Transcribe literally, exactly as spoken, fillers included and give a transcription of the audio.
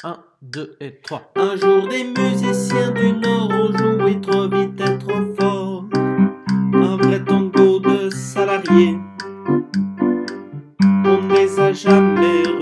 Un, deux et trois. Un jour des musiciens du Nord ont joué trop vite et trop fort, un vrai tango de salariés. On ne les a jamais